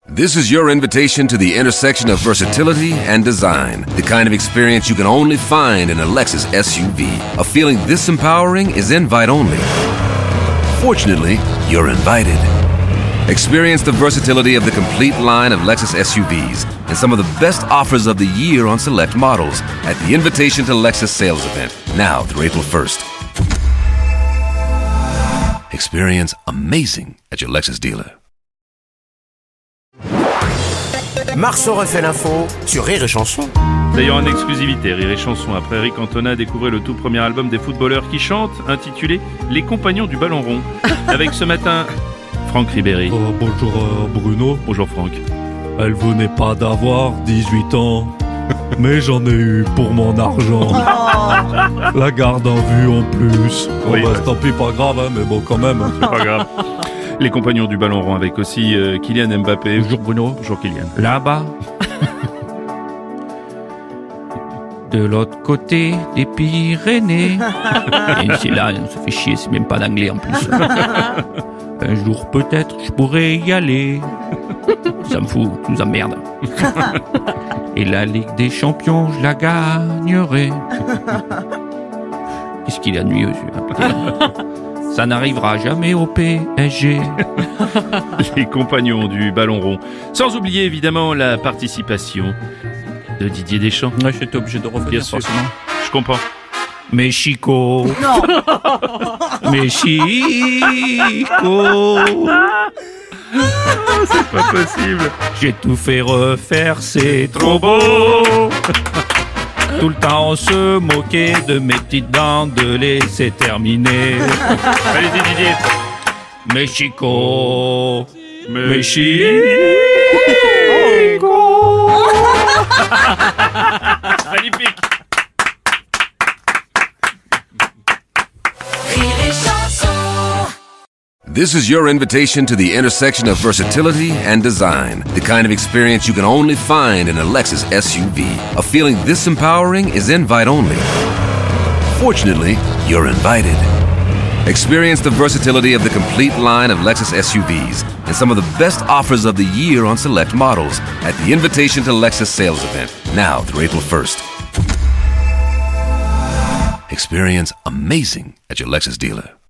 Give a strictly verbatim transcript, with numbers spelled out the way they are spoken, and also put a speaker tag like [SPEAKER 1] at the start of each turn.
[SPEAKER 1] This is your invitation to the intersection of versatility and design. The kind of experience you can only find in a Lexus S U V. A feeling this empowering is invite only. Fortunately, you're invited. Experience the versatility of the complete line of Lexus S U Vs and some of the best offers of the year on select models at the Invitation to Lexus sales event, now through April first. Experience amazing at your Lexus dealer.
[SPEAKER 2] Marceau refait l'info sur Rire et Chanson.
[SPEAKER 3] D'ailleurs, en exclusivité, Rire et Chanson, après Eric Cantona, découvrez le tout premier album des footballeurs qui chantent, intitulé Les Compagnons du Ballon Rond. Avec ce matin, Franck Ribéry.
[SPEAKER 4] Euh, bonjour euh, Bruno.
[SPEAKER 3] Bonjour Franck.
[SPEAKER 4] Elle venait pas d'avoir dix-huit ans, mais j'en ai eu pour mon argent. La garde à vue en plus.
[SPEAKER 3] Oui,
[SPEAKER 4] oh, bah,
[SPEAKER 3] ouais.
[SPEAKER 4] Tant pis, pas grave, hein, mais bon, quand même.
[SPEAKER 3] C'est pas grave. Les Compagnons du Ballon Rond avec aussi euh, Kylian Mbappé.
[SPEAKER 4] Bonjour Bruno.
[SPEAKER 3] Bonjour Kylian.
[SPEAKER 5] Là-bas, de l'autre côté des Pyrénées. Et c'est là, on se fait chier, c'est même pas d'anglais en plus. Un jour peut-être je pourrais y aller. Ça me fout, tu nous emmerdes. Et la Ligue des Champions, je la gagnerai. Qu'est-ce qu'il a de mieux, celui-là? Ça n'arrivera jamais au P S G.
[SPEAKER 3] Les Compagnons du Ballon Rond. Sans oublier évidemment la participation de Didier Deschamps.
[SPEAKER 5] Ouais, j'étais obligé de revenir.
[SPEAKER 3] Bien sûr.
[SPEAKER 5] Forcément.
[SPEAKER 3] Je comprends.
[SPEAKER 5] Mexico.
[SPEAKER 6] Non.
[SPEAKER 5] Mexico.
[SPEAKER 3] C'est pas possible.
[SPEAKER 5] J'ai tout fait refaire, c'est trop beau. Tout le temps on se moquait de mes petites dents, de laisser terminer.
[SPEAKER 3] Allez-y Didier.
[SPEAKER 5] Mexico.
[SPEAKER 3] Mais-
[SPEAKER 5] Mexico.
[SPEAKER 3] Magnifique.
[SPEAKER 1] This is your invitation to the intersection of versatility and design. The kind of experience you can only find in a Lexus S U V. A feeling this empowering is invite only. Fortunately, you're invited. Experience the versatility of the complete line of Lexus S U Vs and some of the best offers of the year on select models at the Invitation to Lexus sales event, now through April first. Experience amazing at your Lexus dealer.